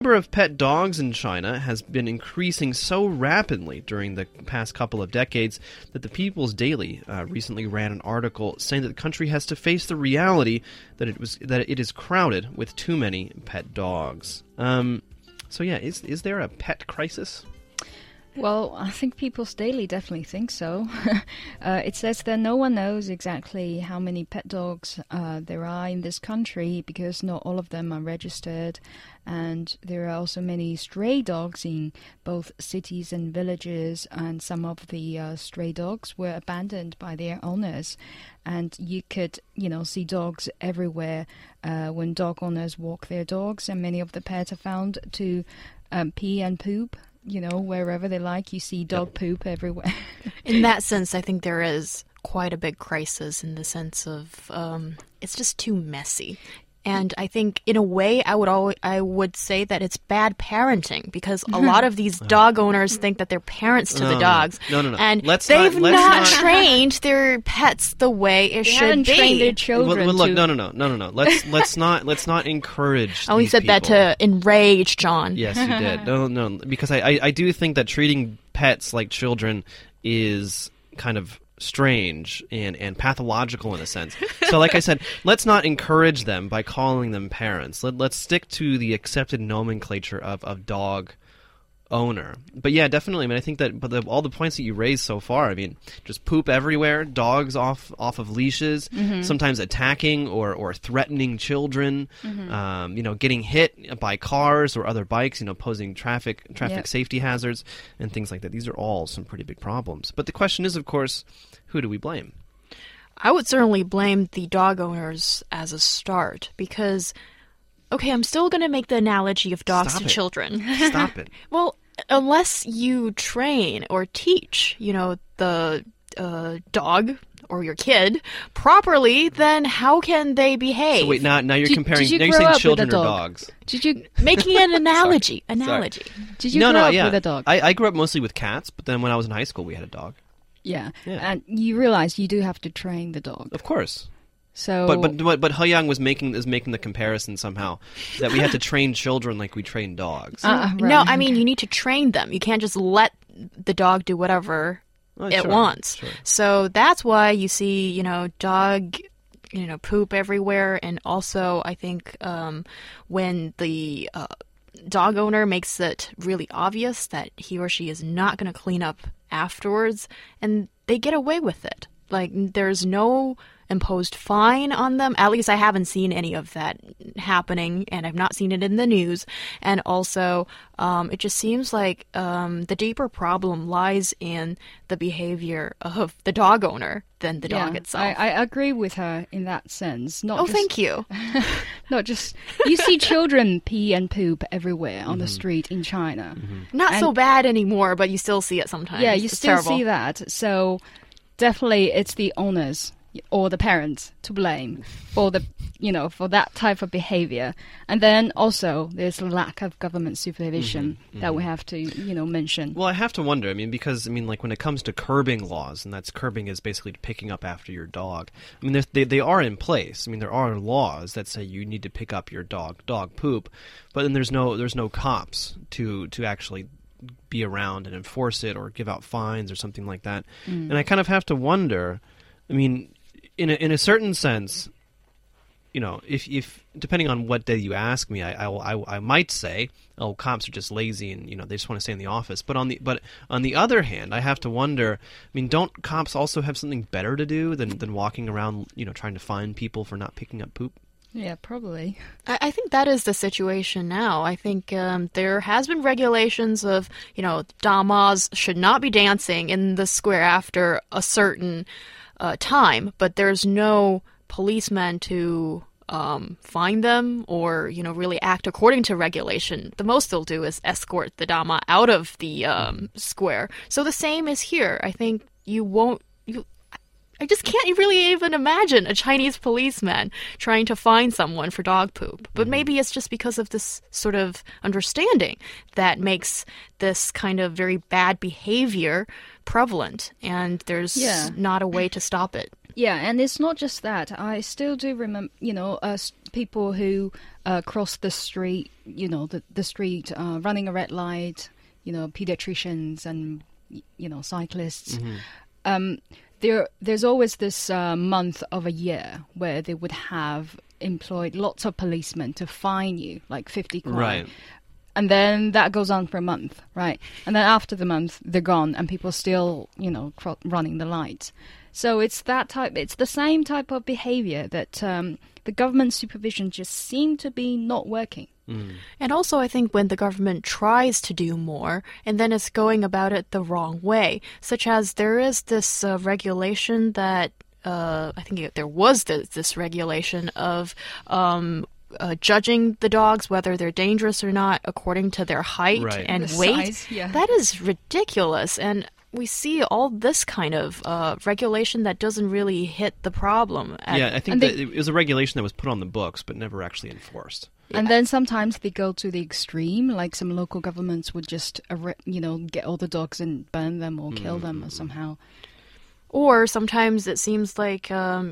number of pet dogs in China has been increasing so rapidly during the past couple of decades that the People's Daily recently ran an article saying that the country has to face the reality that it is crowded with too many pet dogs. So yeah, is there a pet crisis? Well, I think People's Daily definitely think so. It says that no one knows exactly how many pet dogs there are in this country because not all of them are registered. And there are also many stray dogs in both cities and villages. And some of the stray dogs were abandoned by their owners. And you could, see dogs everywhere when dog owners walk their dogs. And many of the pets are found to pee and poop. Wherever they like, you see dog poop everywhere. In that sense, I think there is quite a big crisis in the sense of it's just too messy. And I think, in a way, I would say that it's bad parenting because a lot of these dog owners think that they're parents to the dogs. No. And they've not trained their pets the way it should be. They haven't trained their children. Well, look, no. Let's not encourage. I only said that to enrage John. Yes, you did. No, because I do think that treating pets like children is kind of strange and pathological in a sense. So like I said, let's not encourage them by calling them parents. Let's stick to the accepted nomenclature of dog owner. But yeah, definitely. I mean, I think that all the points that you raised so far, I mean, just poop everywhere, dogs off of leashes, sometimes attacking or threatening children, getting hit by cars or other bikes, posing traffic safety hazards and things like that. These are all some pretty big problems. But the question is, of course, who do we blame? I would certainly blame the dog owners as a start because, okay, I'm still going to make the analogy of dogs to children. Stop it. Well, unless you train or teach, the dog or your kid properly, then how can they behave? So wait, now you're comparing. Now you're saying children or dogs. Did you making an analogy? Did you grow up with a dog? I grew up mostly with cats, but then when I was in high school, we had a dog. Yeah. And you realize you do have to train the dog. Of course. So, but He Yang is making the comparison somehow that we have to train children like we train dogs. Right. No, I mean you need to train them. You can't just let the dog do whatever it wants. Sure. So that's why you see, dog, poop everywhere, and also I think when the dog owner makes it really obvious that he or she is not going to clean up afterwards, and they get away with it. Like there's no imposed fine on them. At least I haven't seen any of that happening, and I've not seen it in the news. And also, it just seems like the deeper problem lies in the behavior of the dog owner than the dog itself. I agree with her in that sense. Thank you. Not just... You see children pee and poop everywhere on the street in China. Not so bad anymore, but you still see it sometimes. Yeah, you it's still terrible. see that. So definitely it's the owners or the parents to blame for for that type of behavior. And then also there's lack of government supervision that we have to, mention. Well, I have to wonder, because like when it comes to curbing laws, and that's curbing is basically picking up after your dog. They are in place. There are laws that say you need to pick up your dog poop, but then there's no cops to actually be around and enforce it or give out fines or something like that. And I kind of have to wonder, in a certain sense, if depending on what day you ask me, I might say, oh, cops are just lazy and they just want to stay in the office. But on the other hand, I have to wonder. Don't cops also have something better to do than walking around, trying to find people for not picking up poop? Yeah, probably. I think that is the situation now. I think there has been regulations of, damas should not be dancing in the square after a certain time, but there's no policeman to find them or, really act according to regulation. The most they'll do is escort the dama out of the square. So the same is here. I think I just can't really even imagine a Chinese policeman trying to find someone for dog poop. But maybe it's just because of this sort of understanding that makes this kind of very bad behavior prevalent, and there's not a way to stop it. Yeah, and it's not just that. I still do remember, people who cross the street, the street, running a red light, pediatricians and, cyclists. There's always this month of a year where they would have employed lots of policemen to fine you, like 50 kron. Right. And then that goes on for a month, right? And then after the month, they're gone, and people still, running the lights. So it's the same type of behavior that the government supervision just seemed to be not working. And also, I think when the government tries to do more, and then it's going about it the wrong way, such as there is this regulation that, I think there was this regulation of judging the dogs, whether they're dangerous or not, according to their height and the weight. size, yeah. That is ridiculous. And we see all this kind of regulation that doesn't really hit the problem. I think that it was a regulation that was put on the books but never actually enforced. And then sometimes they go to the extreme, like some local governments would just, get all the dogs and burn them or kill them or somehow. Or sometimes it seems like,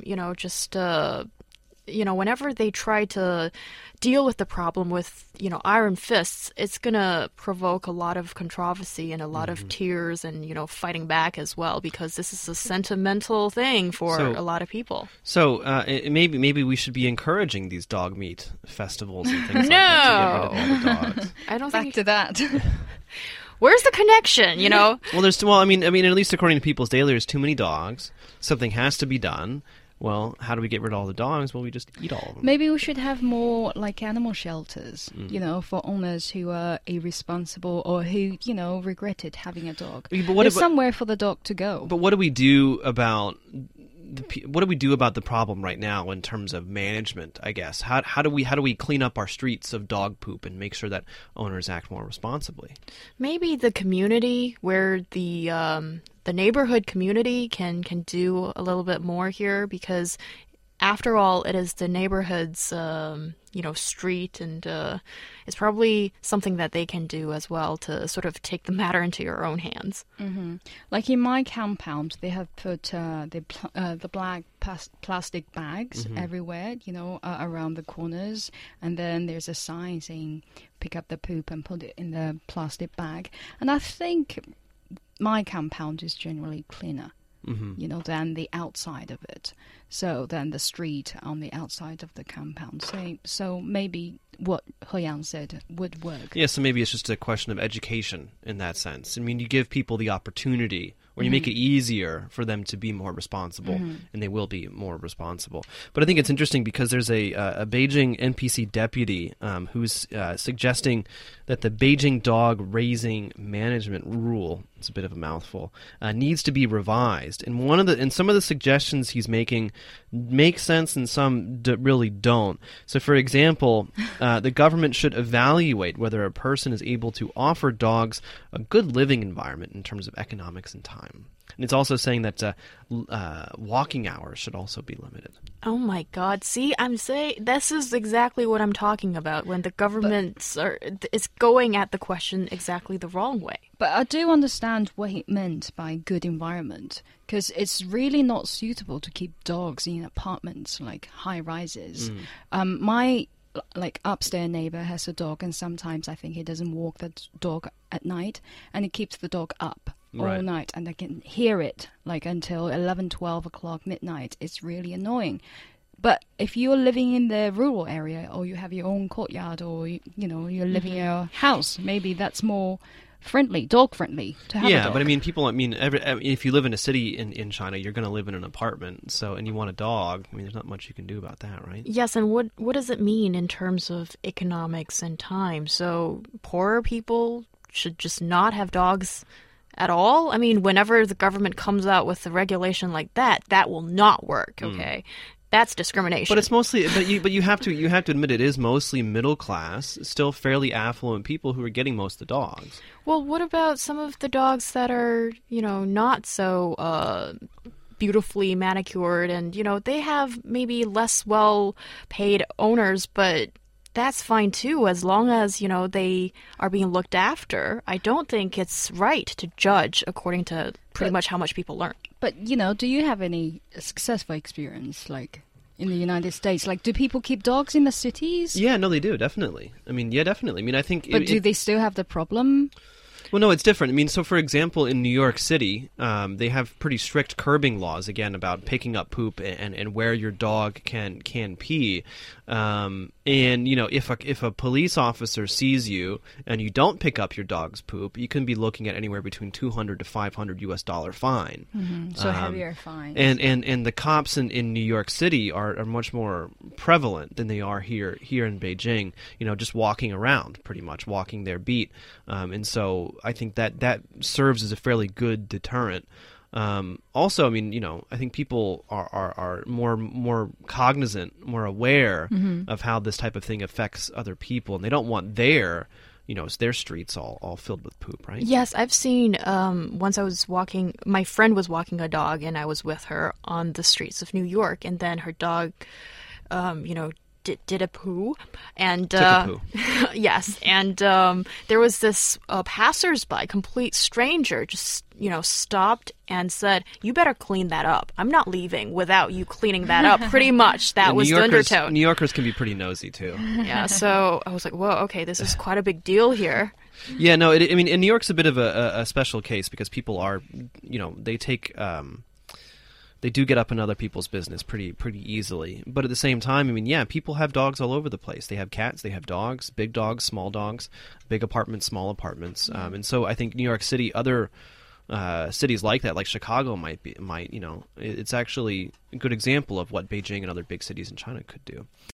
whenever they try to deal with the problem with, iron fists, it's going to provoke a lot of controversy and a lot of tears and, fighting back as well, because this is a sentimental thing for a lot of people. So maybe we should be encouraging these dog meat festivals and things like that to get rid of all the dogs. I don't Back think to that. Where's the connection, Well, I mean, at least according to People's Daily, there's too many dogs. Something has to be done. Well, how do we get rid of all the dogs? Well, we just eat all of them. Maybe we should have more like animal shelters, for owners who are irresponsible or who, regretted having a dog. There's somewhere for the dog to go. But what do we do about the problem right now in terms of management, I guess? How do we clean up our streets of dog poop and make sure that owners act more responsibly? Maybe the community, where the neighborhood community can do a little bit more here, because after all, it is the neighborhood's street, and it's probably something that they can do as well to sort of take the matter into your own hands. Mm-hmm. Like in my compound, they have put the black plastic bags everywhere, around the corners, and then there's a sign saying "pick up the poop and put it in the plastic bag." And I think my compound is generally cleaner, than the outside of it. So then the street on the outside of the compound. So maybe what He Yang said would work. Yeah, so maybe it's just a question of education in that sense. I mean, you give people the opportunity, or you make it easier for them to be more responsible, and they will be more responsible. But I think it's interesting because there's a Beijing NPC deputy who's suggesting that the Beijing dog raising management rule, it's a bit of a mouthful, needs to be revised. And some of the suggestions he's making make sense and some really don't. So, for example, the government should evaluate whether a person is able to offer dogs a good living environment in terms of economics and time. And it's also saying that walking hours should also be limited. Oh my God. See, I'm saying this is exactly what I'm talking about, when the government is going at the question exactly the wrong way. But I do understand what he meant by good environment, because it's really not suitable to keep dogs in apartments, like high rises. My upstairs neighbor has a dog, and sometimes I think he doesn't walk the dog at night, and he keeps the dog up all night, and I can hear it until 11, 12 o'clock midnight. It's really annoying. But if you're living in the rural area, or you have your own courtyard, or you're living in a house, maybe that's more dog friendly to have a dog. But if you live in a city in China, you're going to live in an apartment, and you want a dog, there's not much you can do about that, right? Yes, and what does it mean in terms of economics and time? So poorer people should just not have dogs at all? Whenever the government comes out with a regulation like that, that will not work, okay? That's discrimination. But it's mostly, but you have to admit it is mostly middle class, still fairly affluent people who are getting most of the dogs. Well, what about some of the dogs that are, not so beautifully manicured, and they have maybe less well-paid owners, but that's fine too, as long as, they are being looked after. I don't think it's right to judge according to pretty much how much people learn. But, do you have any successful experience, in the United States? Like, do people keep dogs in the cities? Yeah, no, they do, definitely. I mean, yeah, definitely. I mean, I think... But do they still have the problem? Well, no, it's different. I mean, so for example, in New York City, they have pretty strict curbing laws, again, about picking up poop and where your dog can pee. And, you know, if a police officer sees you and you don't pick up your dog's poop, you can be looking at anywhere between $200 to $500 fine. So heavier fines. And the cops in New York City are much more prevalent than they are here in Beijing, you know, just walking around, pretty much, walking their beat. And so I think that serves as a fairly good deterrent. Also, I mean, you know, I think people are more cognizant, more aware of how this type of thing affects other people, and they don't want their streets all filled with poop, right? Yes, I've seen, once I was walking, my friend was walking a dog, and I was with her on the streets of New York, and then her dog, did a poo, and Took a poo. yes, and there was this passersby, complete stranger, just stopped and said, "You better clean that up. I'm not leaving without you cleaning that up." Pretty much, that was the undertone. New Yorkers can be pretty nosy too. Yeah, so I was like, "Whoa, okay, this is quite a big deal here." Yeah, no, I mean, in New York's a bit of a special case because people are, they take. They do get up in other people's business pretty easily. But at the same time, I mean, yeah, people have dogs all over the place. They have cats, they have dogs, big dogs, small dogs, big apartments, small apartments. And so I think New York City, other cities like that, like Chicago it's actually a good example of what Beijing and other big cities in China could do.